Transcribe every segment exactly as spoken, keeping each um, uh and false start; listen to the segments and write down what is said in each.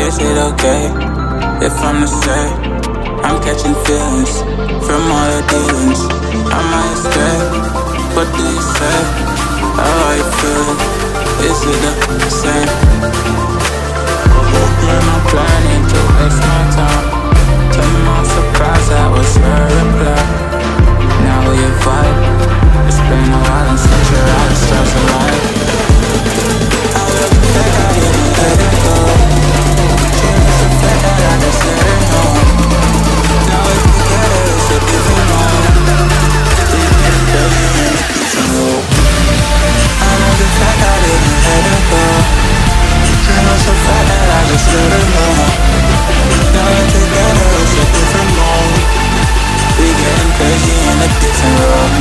Is it okay if I'm the same? I'm catching feelings from all your dealings. I might stay, what do you say? How are you feeling? Is it the same? I'm not planning to waste my time. To my surprise, that was her reply. Now we vibe. It's been a while and since you're out of stars alive. I love the fact I didn't let it go. She loves the fact that I just let her know. Now we're together, it's a different moment. We getting crazy in a different role. I love the fact I didn't let her go. She loves the fact that I just let her know. Now we're together, it's a different moment. We getting crazy in a different role.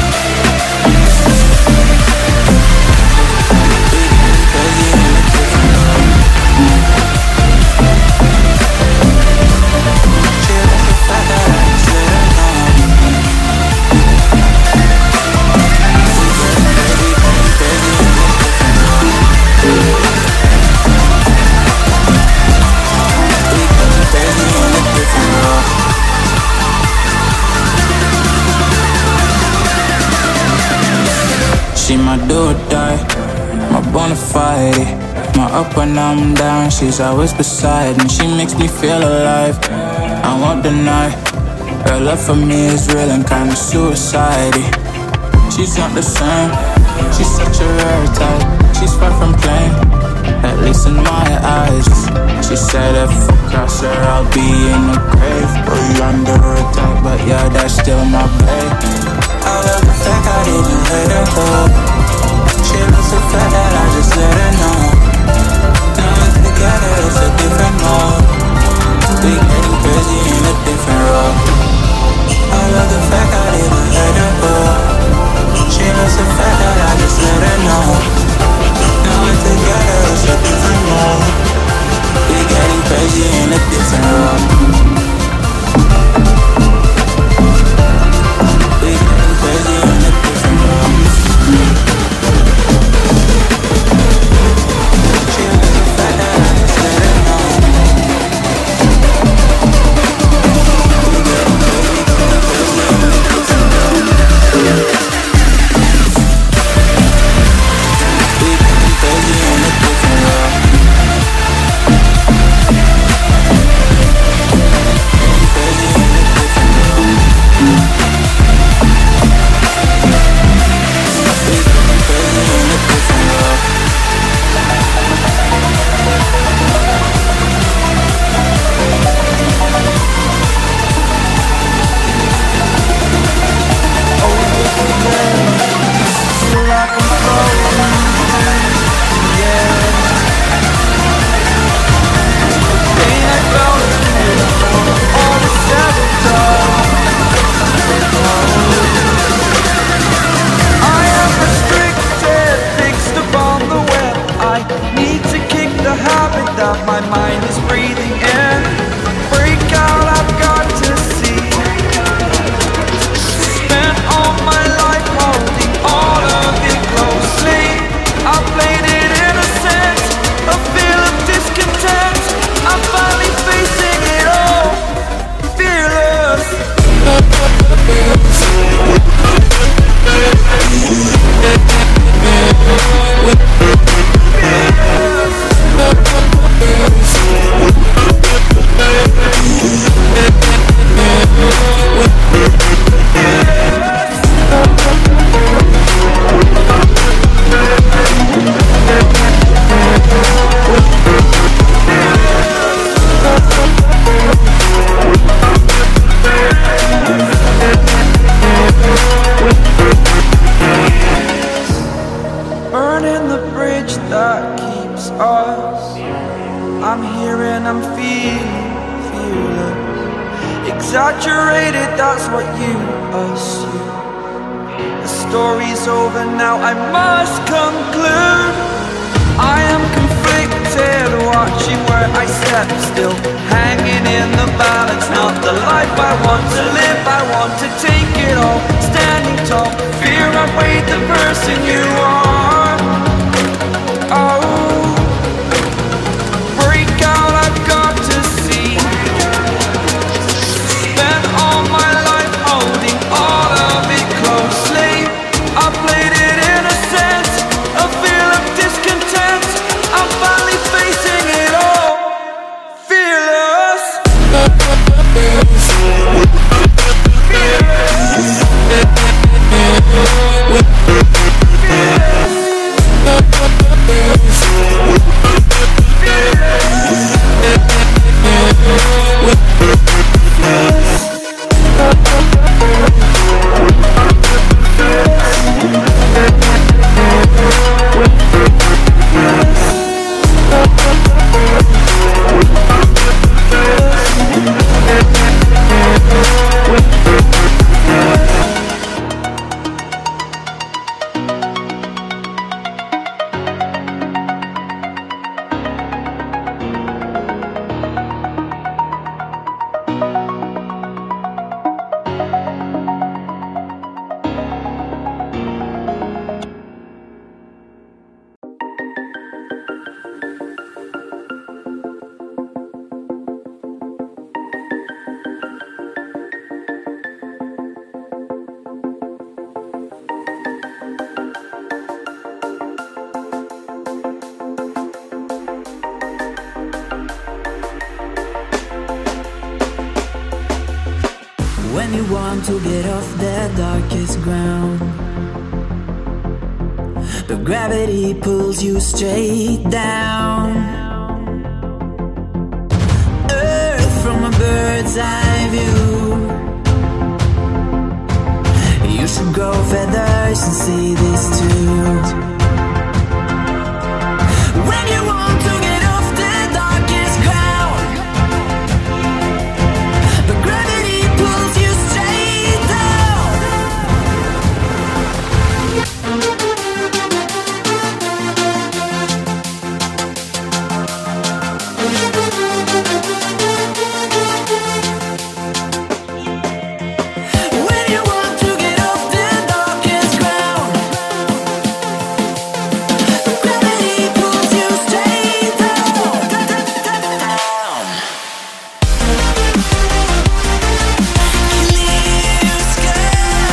She my do or die, my bona fide. My up when I'm down, she's always beside me. She makes me feel alive, I won't deny. Her love for me is real and kinda suicide. She's not the same, she's such a rare type. She's far from plain, at least in my eyes. She said if I cross her, I'll be in the grave. Or under attack, but yeah, that's still my babe. I love the fact I didn't let her go. She loves the fact that I just let her know. Now we're together, it's a different mode. We getting crazy in a different role. I love the fact I didn't let her go. She loves the fact that I just let her know. Now we're together, it's a different mode. We getting crazy in a different role. Crazy in a different world. She was the fact that I just let her know. We getting crazy, crazy in a different world. We getting crazy in a different world. Crazy in a different world. My mind is breathing in. Break out, I've got to see. Spent all my life holding all of it closely. I played it innocent, a feel of discontent. I'm finally facing it all, fearless. Burning the bridge that keeps us. I'm here and I'm feeling fearless. Exaggerated, that's what you assume. The story's over now, I must conclude. I am conflicted, watching where I step still, hanging in the balance. Not the life I want to live, I want to take it all. Standing tall, fear outweighed the person you are. Oh, break out, I've want to get off the darkest ground, but gravity pulls you straight down. Earth from a bird's eye view. You should grow feathers and see this too. When you want to get off the darkest ground, but gravity pulls you straight down. When you want to get off the darkest ground, but gravity pulls you straight down. Clear sky.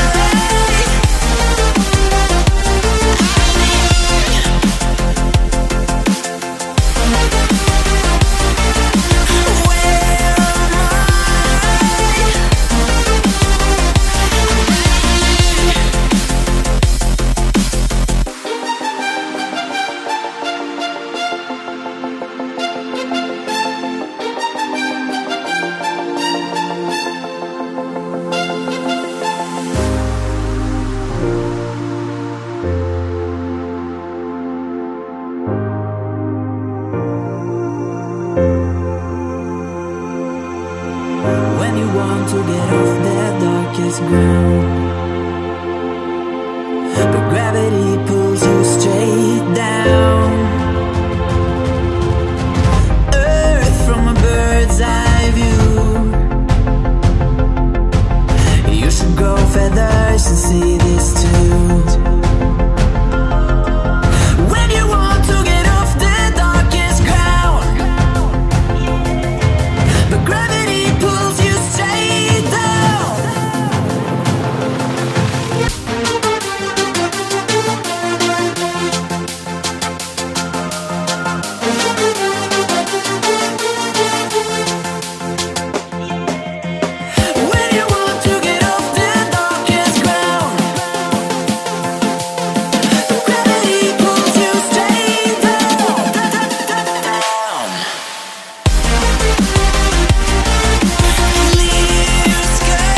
When you want to get off the darkest ground, but gravity pulls you straight down. Earth from a bird's eye view. You should grow feathers and see this too. When you want to get off the darkest ground, but gravity pulls you straight down. When you want to get off the darkest ground, but gravity pulls you straight down. Clear sky.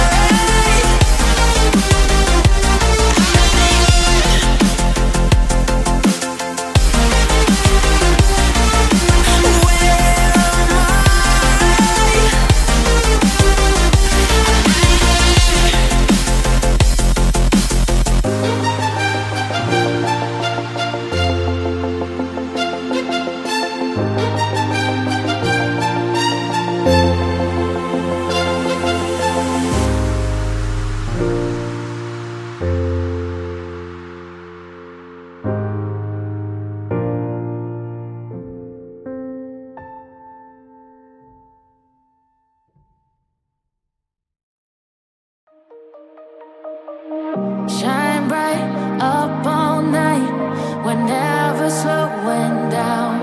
Shine bright up all night, we're never slowing down.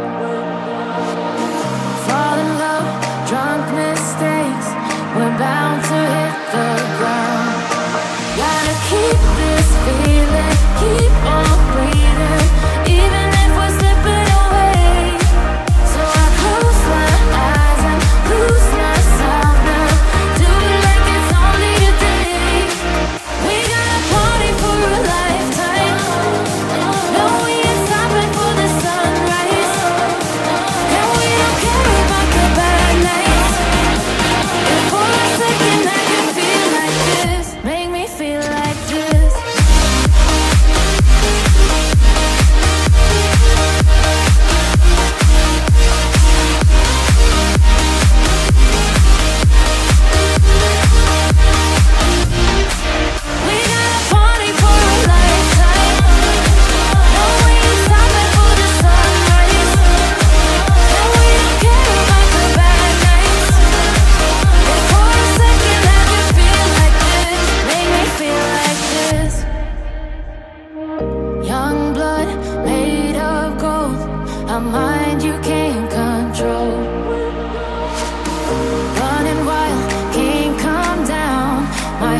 Fall in love, drunk mistakes, we're bound to hit the ground. Gotta keep this feeling, keep on breathing, even if we're slipping away. So I close my eyes and lose myself now. Do it like it's only a day. We got a party for a lifetime. No, we ain't stopping for the sunrise. And we don't care about the bad nights. If for a second I can feel like this, make me feel like this. We got a party for a lifetime. No, we ain't stopping for the sunrise. And we don't care about the bad nights. If for a second I can feel like this, make me feel like this. Young blood made of gold, a mind you can't control. Running wild, can't come down. My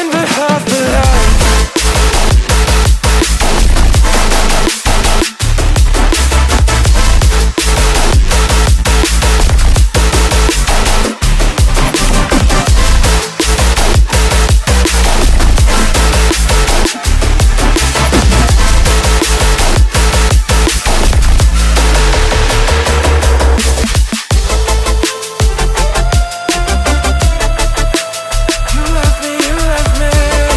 living but half the life. You left me, you left me.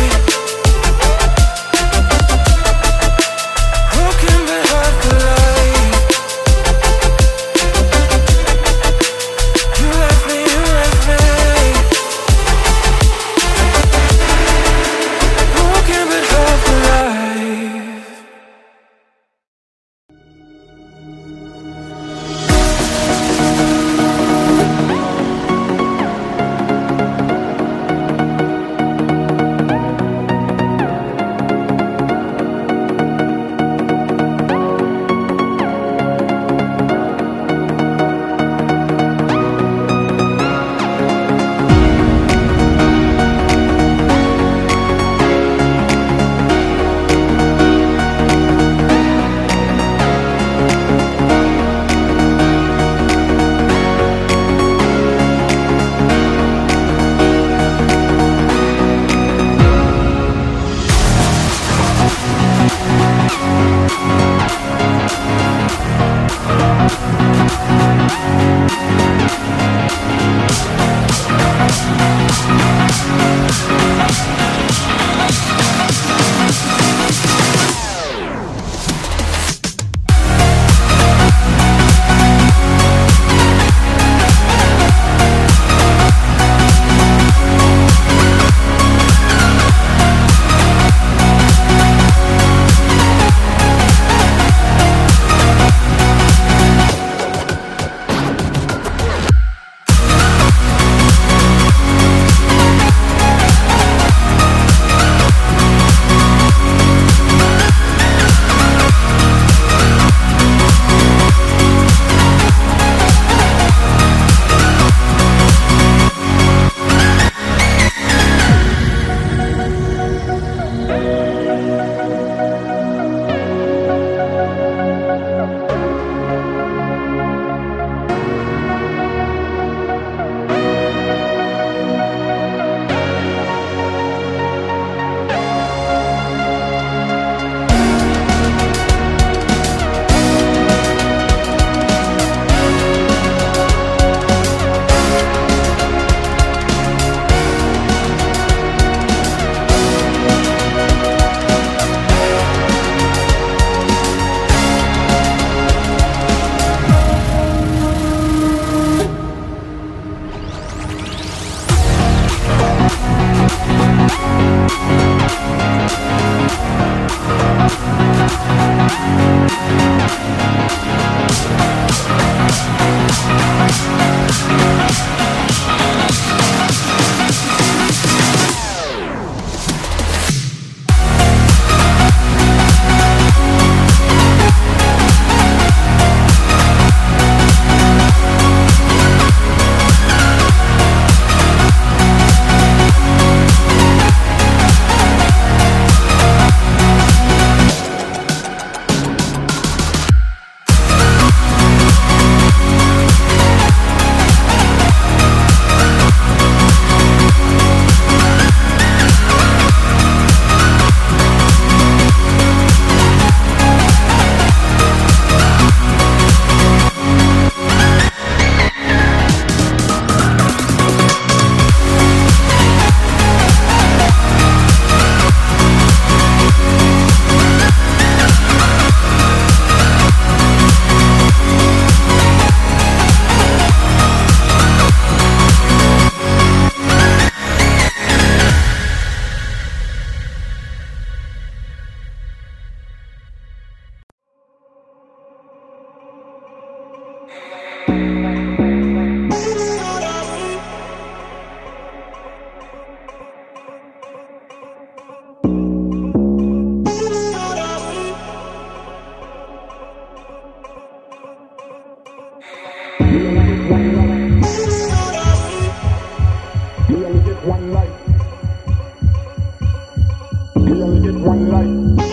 only get one life.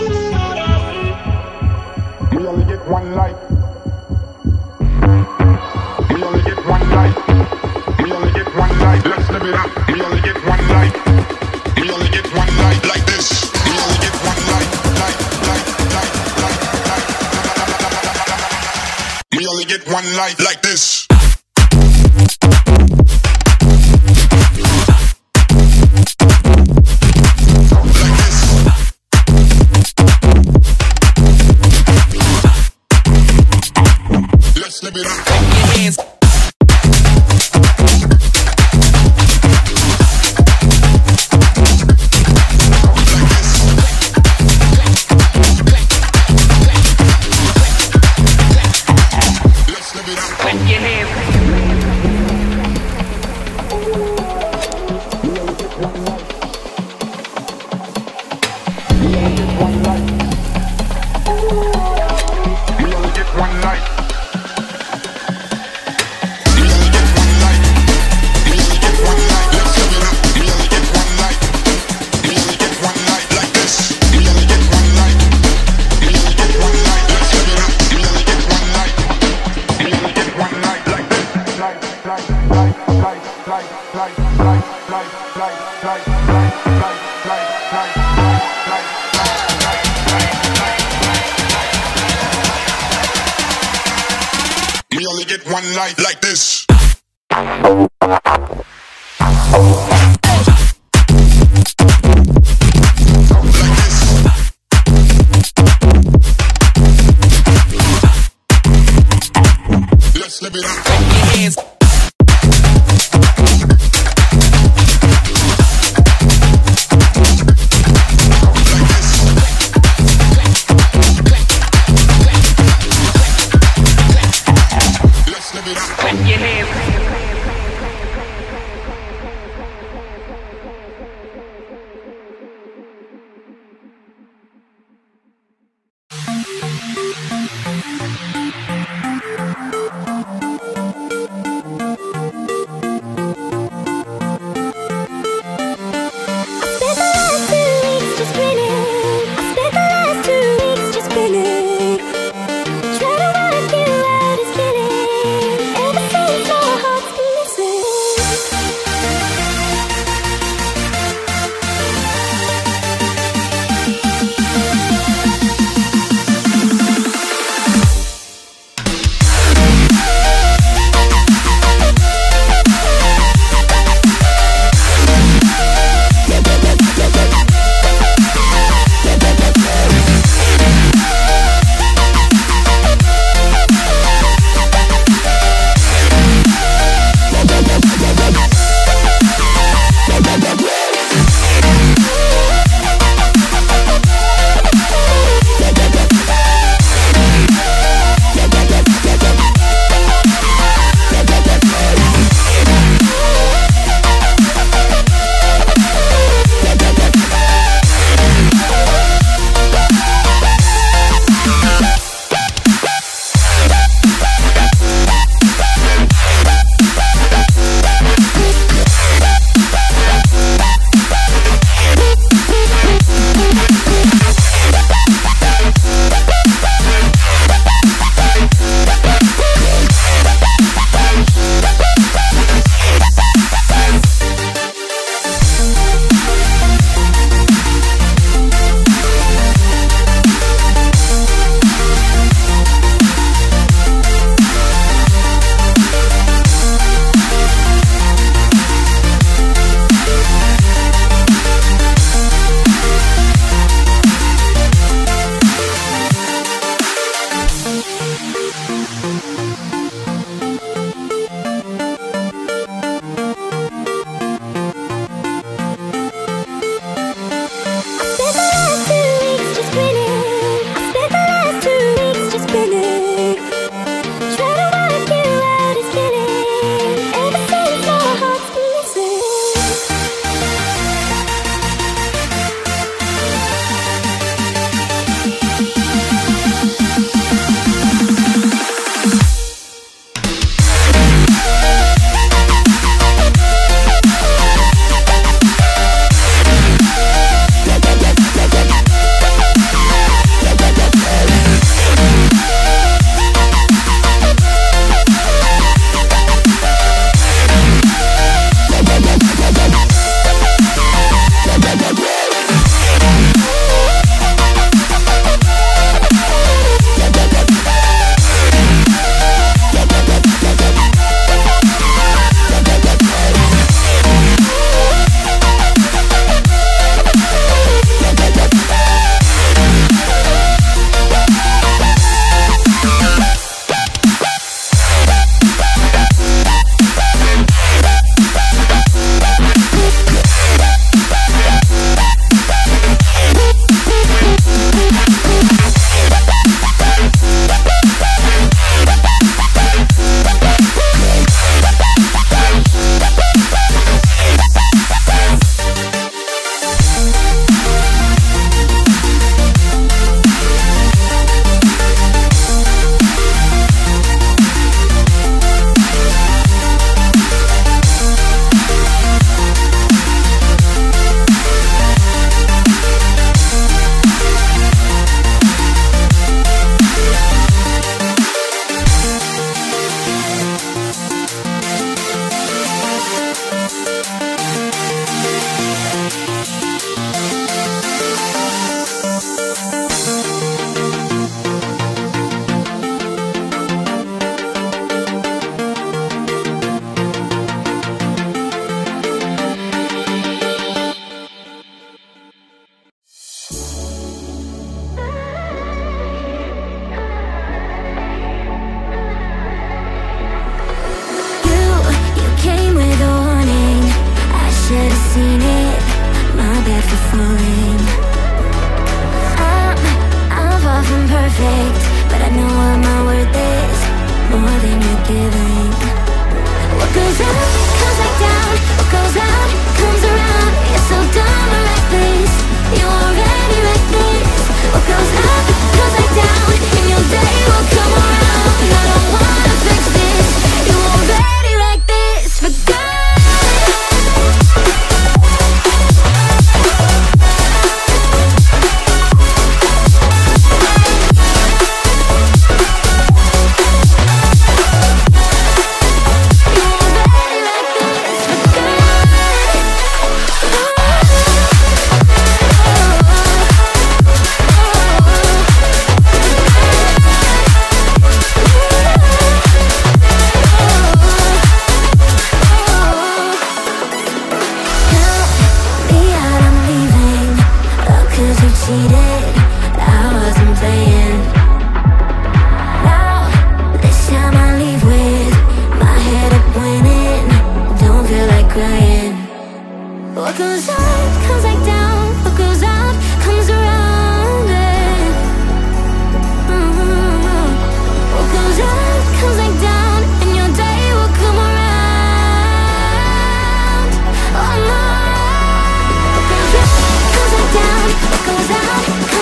We only get one life. We only get one life. We only get one life. Let's live it up. We only get one life. We only get one life like this. We only get one life. Life, life, life, life, life. We only get one life like this. Let's live it up. Clap your hands. We only get one life like this. Let's live it up. Clap your hands. Clap your hands. cheated, I wasn't playing. Now, this time I leave with my head up winning. Don't feel like crying. What goes up, comes back down. What goes up, comes around and mm-hmm. What goes up, comes back down, and your day will come around. Oh no. What goes up, comes back down. What goes out,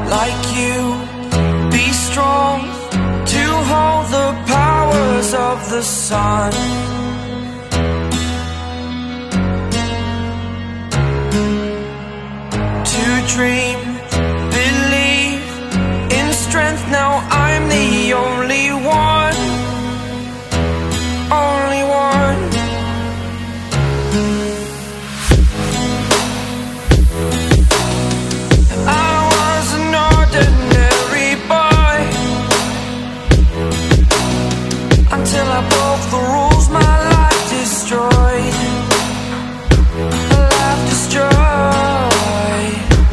like you. Be strong to hold the powers of the sun. To dream, believe in strength. Now I'm the only one, only one. I was an ordinary boy until I broke the rules. My life destroyed, my life destroyed.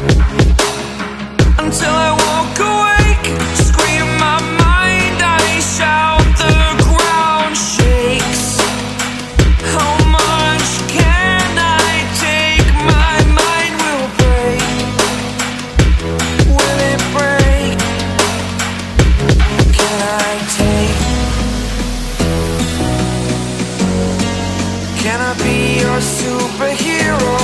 Until I walk awake, scream my mind, I shout, the ground shakes. How much can I take? My mind will break. Will it break? Can I take? Can I be your superhero?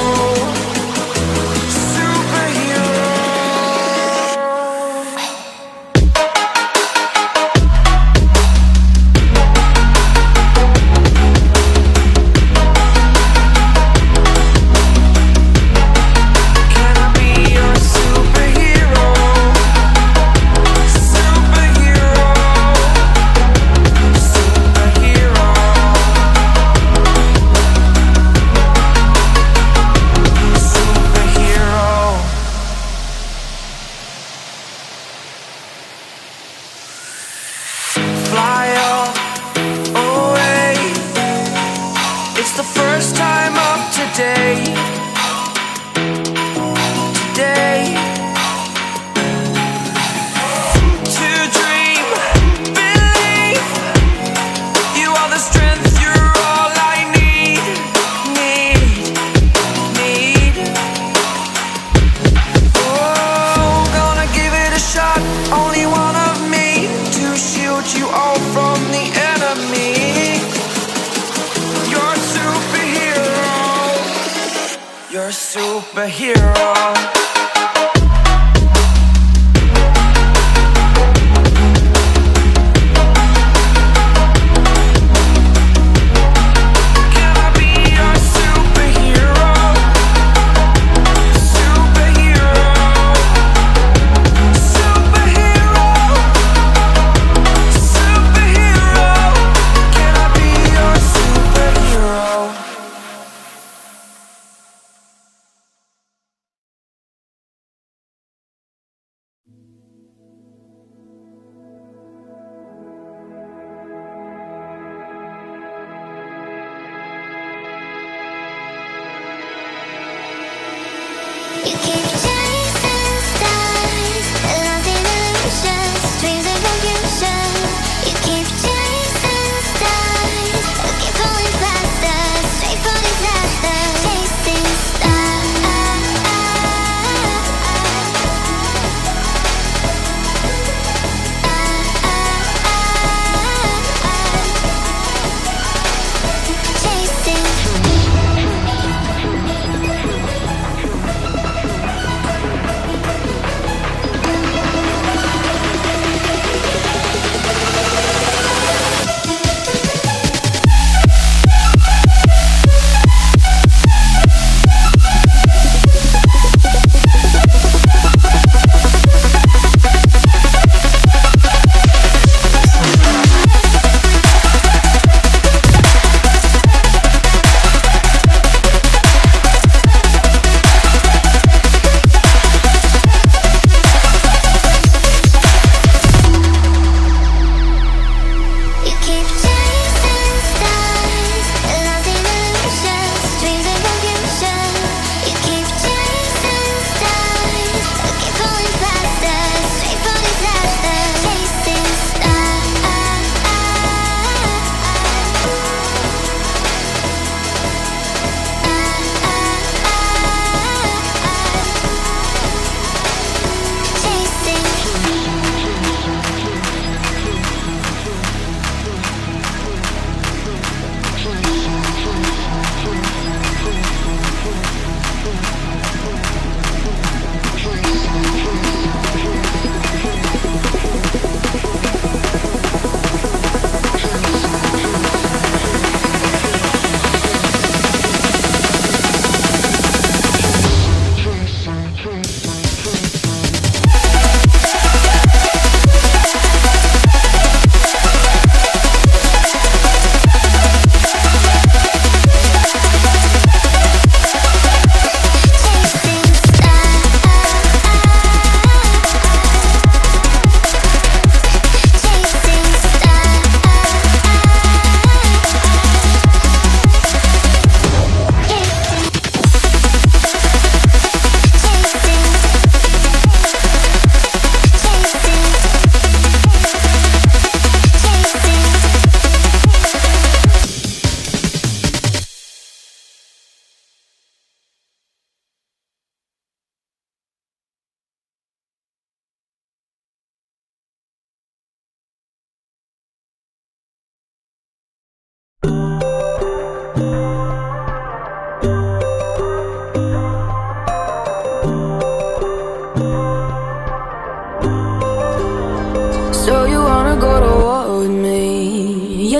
Superhero. You keep chasing stars, lost in illusions, dreams of confusion. You keep chasing stars, looking falling faster, straight for disaster. Chasing stars, chasing.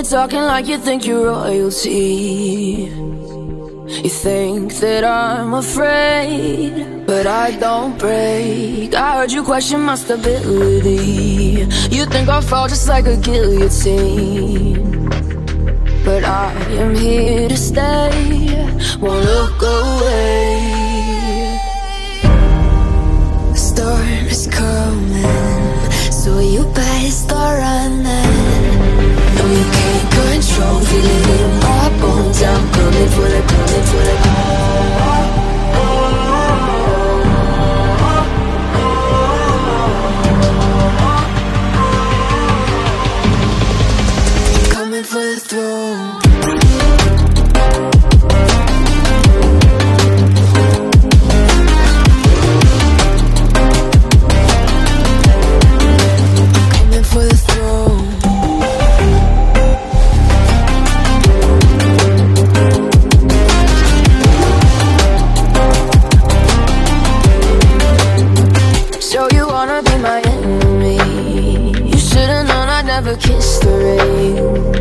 you're talking like you think you're royalty. You think that I'm afraid, but I don't break. I heard you question my stability. You think I'll fall just like a guillotine, but I am here to stay, won't look away. The storm is coming, so you better start running. No, you can't control, feel it in my bones. I'm coming for the, coming for the coming for the throne. Kiss the rain.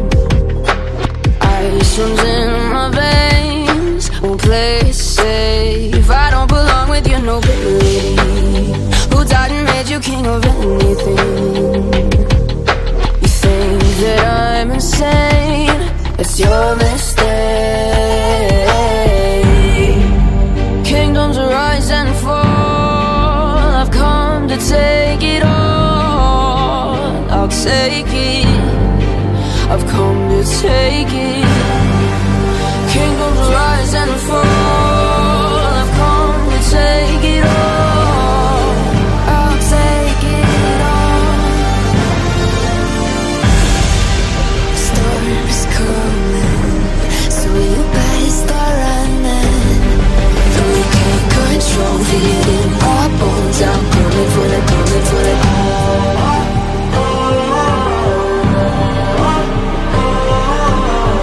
Ice runs in my veins, won't play it safe. I don't belong with your nobility. Who died and made you king of anything? You think that I'm insane? It's your mistake. Kingdoms rise and fall, I've come to take it all. I'll take it, I've come to take it. Kingdoms rise and fall, I've come to take it all. I'll take it all. Storm is coming, so you better start running. No, you can't control, feel it in my bones. I'm coming for the, coming for the all.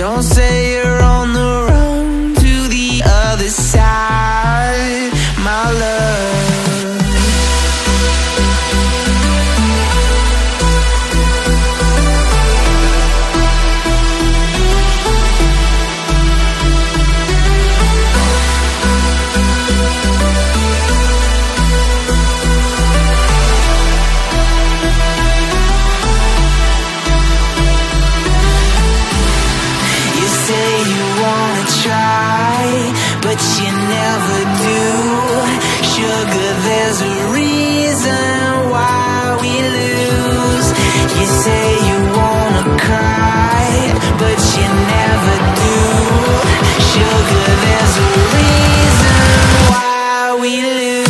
Don't say you're on the run to the other side, my love. But you never do. Sugar, there's a reason why we lose. You say you wanna cry, but you never do. Sugar, there's a reason why we lose.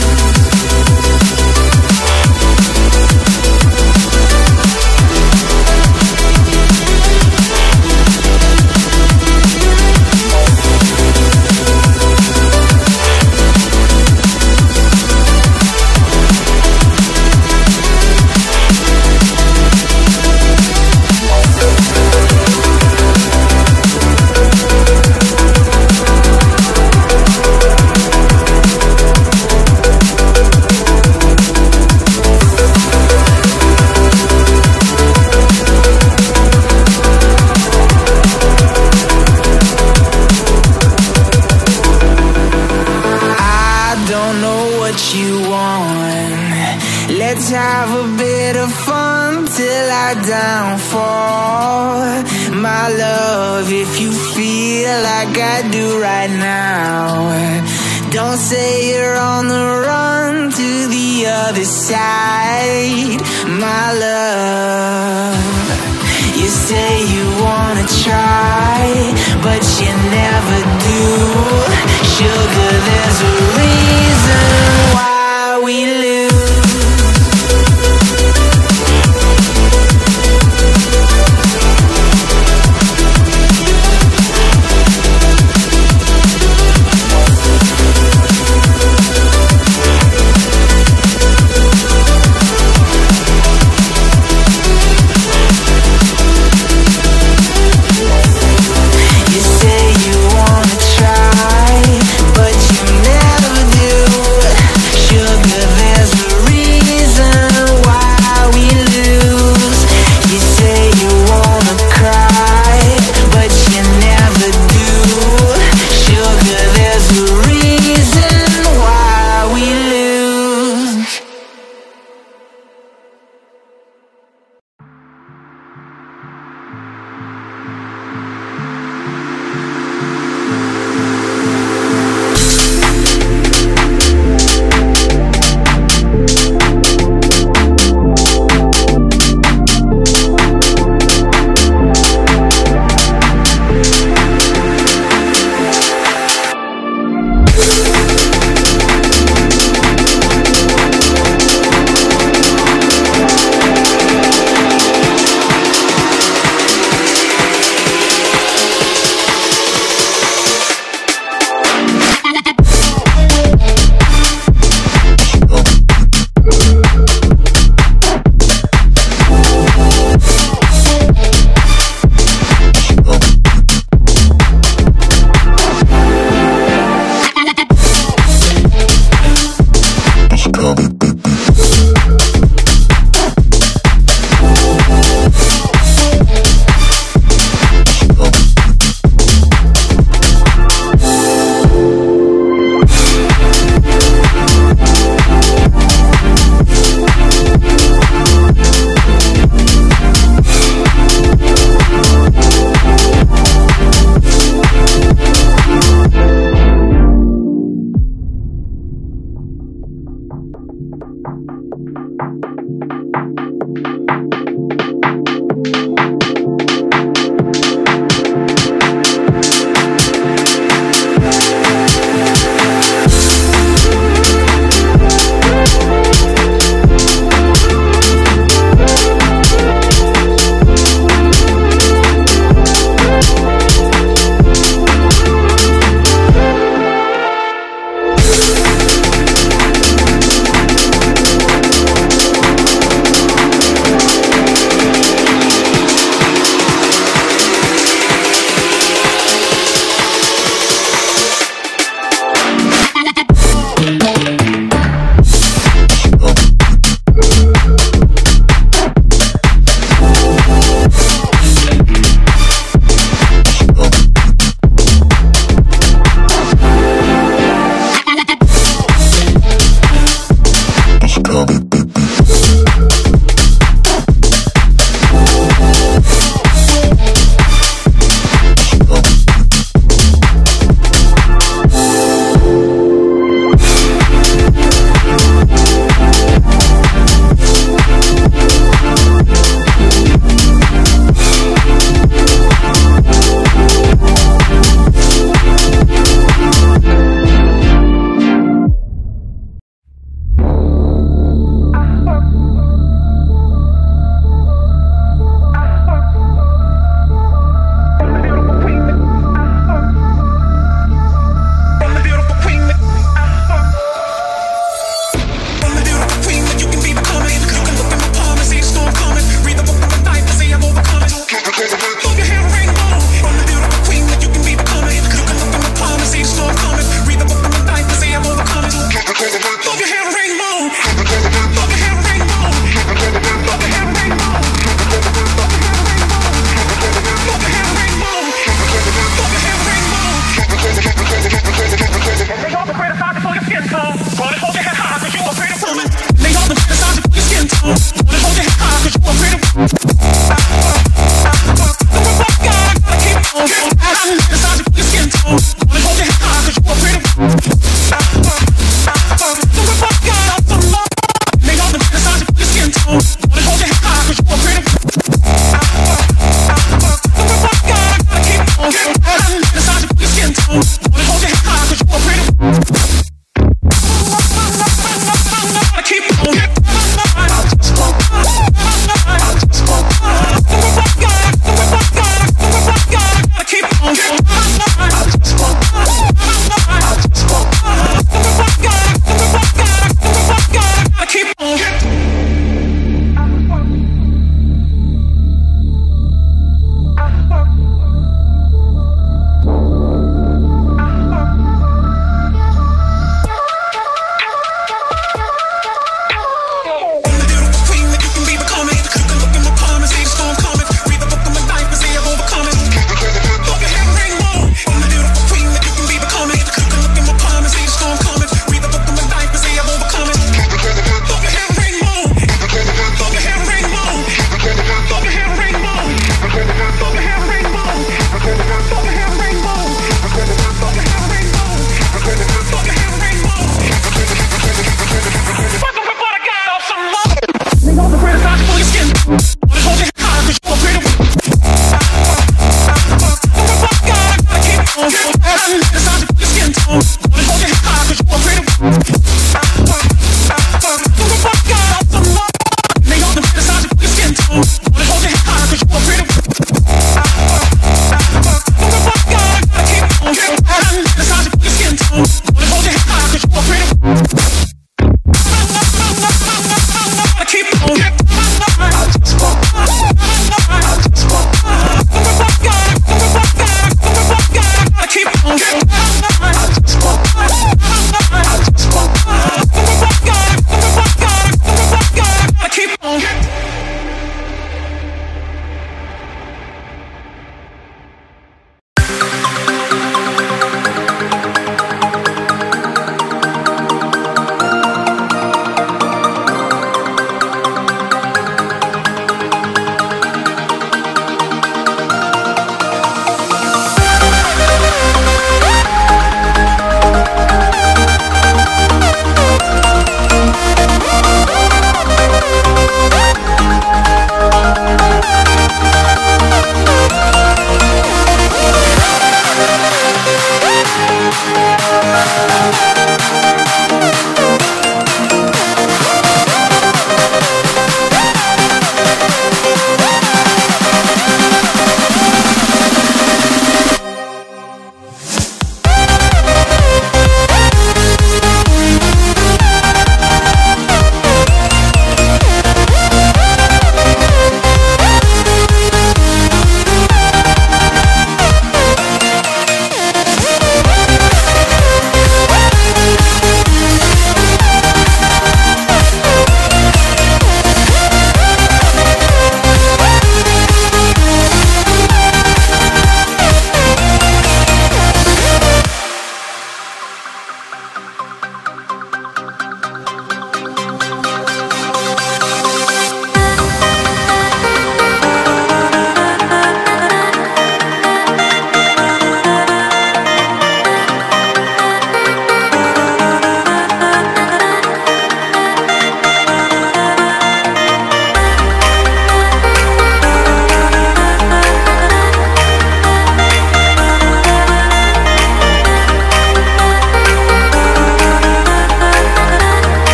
Let's have a bit of fun till I downfall, my love, if you feel like I do right now. Don't say you're on the run to the other side, my love. You say you wanna try, but you never do. Sugar, there's a reason why we lose.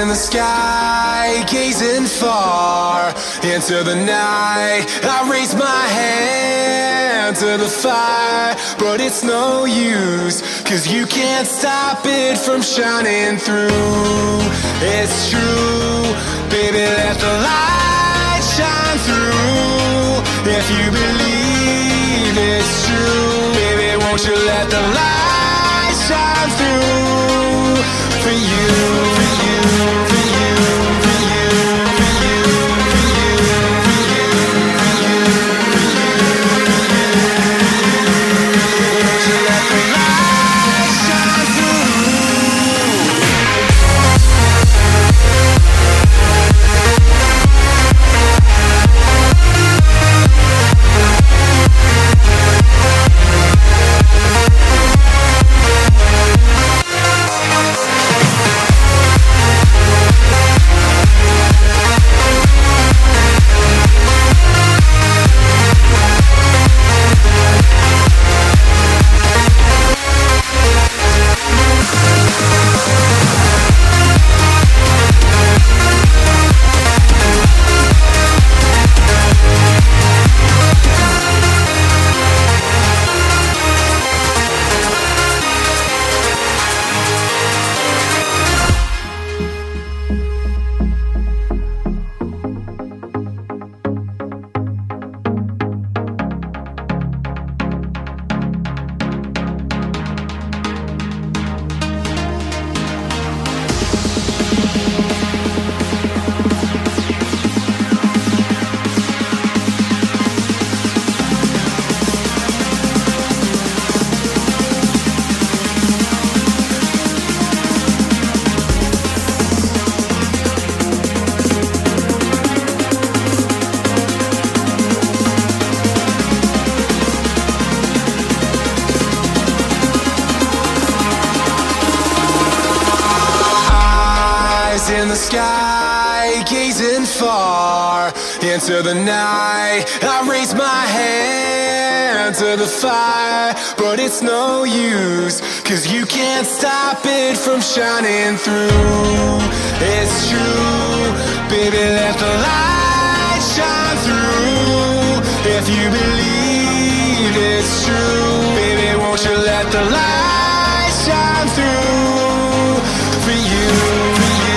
the sky, gazing far into the night. I raise my hand to the fire, but it's no use, 'cause you can't stop it from shining through. It's true, baby, let the light shine through. If you believe it's true, baby, won't you let the light shine through for you, for you, for you, for you, for you, for you, for you, for you, for you. Won't you let the light shine through? In the sky, gazing far into the night. I raise my hand to the fire, but it's no use, 'cause you can't stop it from shining through. It's true, baby, let the light shine through. If you believe it's true, baby, won't you let the light shine through for you, for you.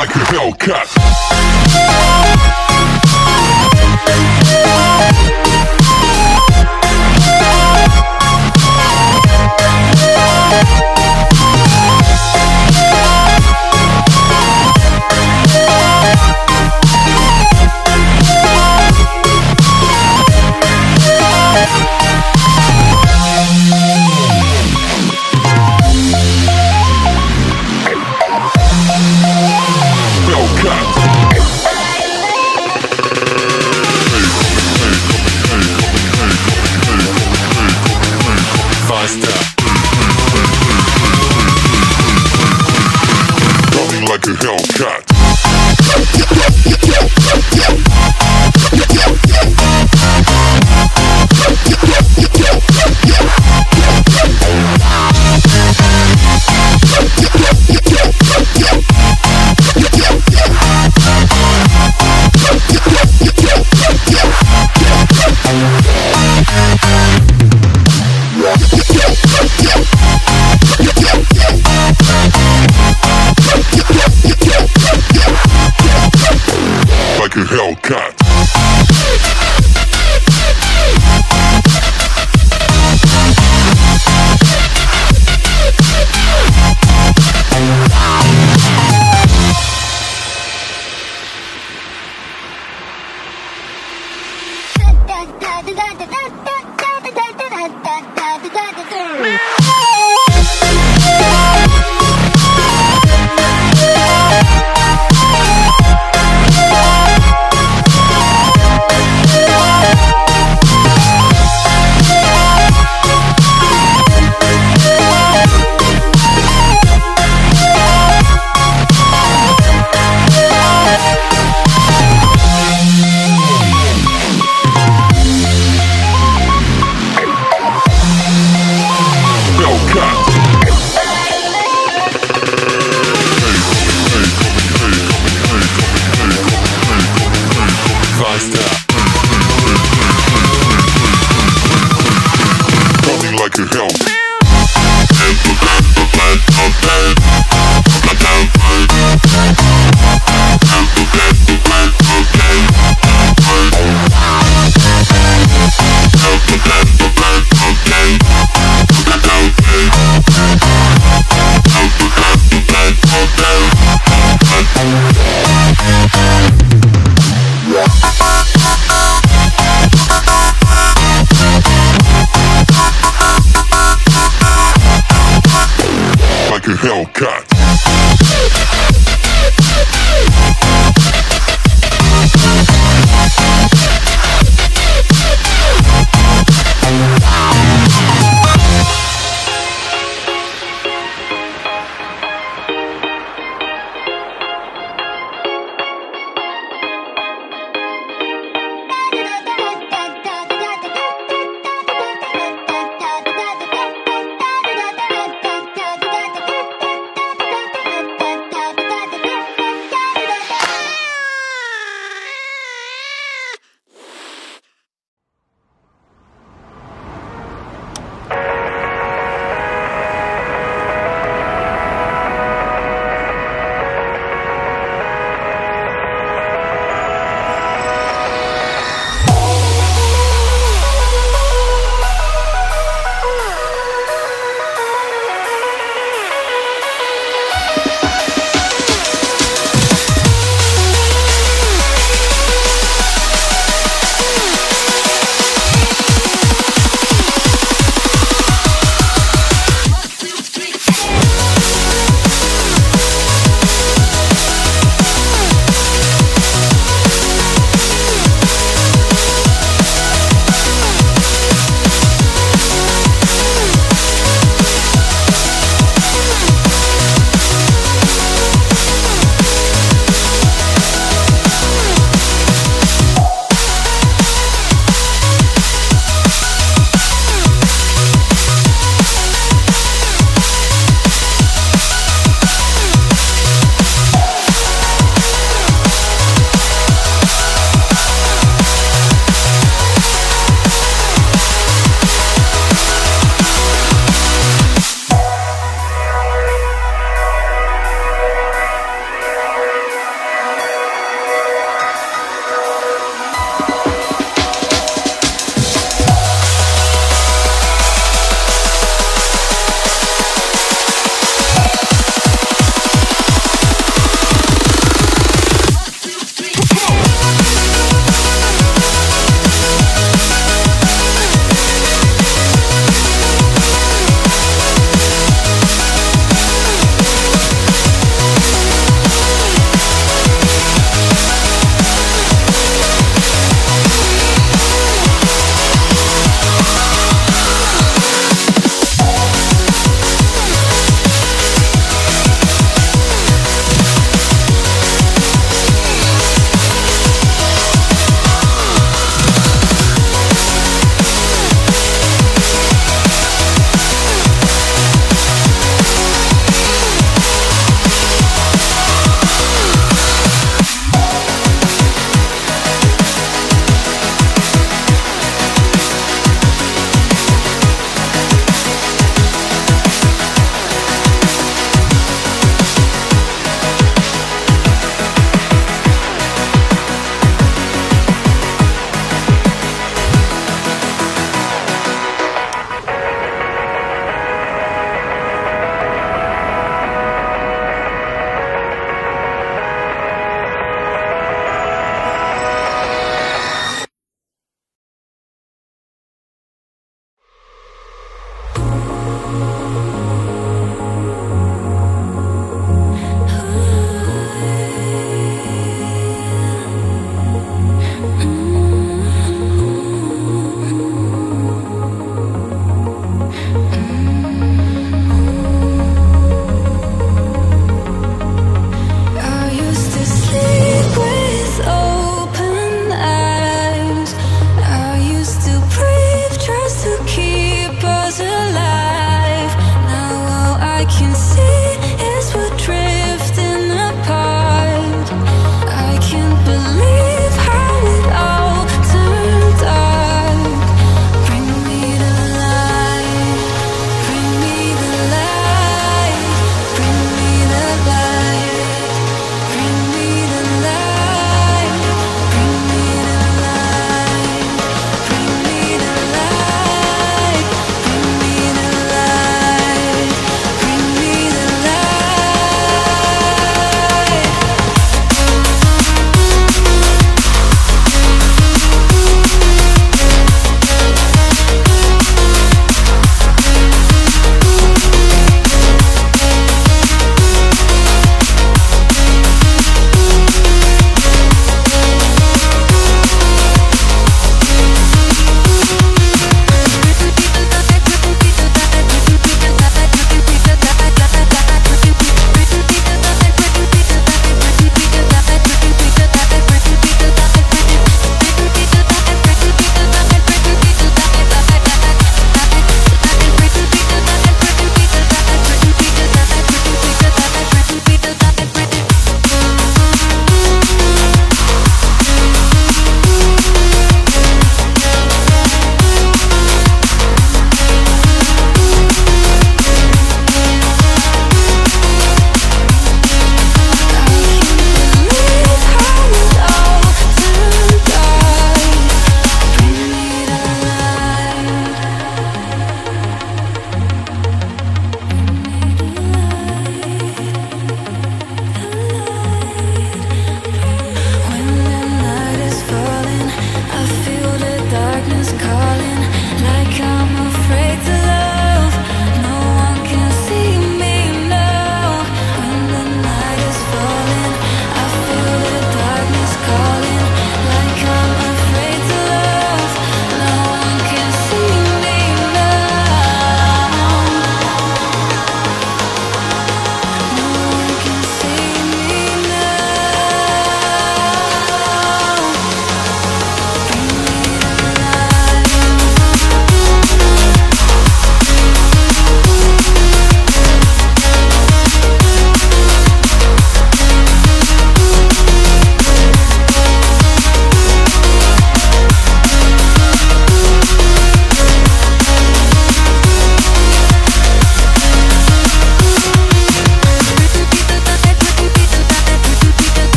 like a Hellcat. Coming like a Hellcat. Like a Hellcat.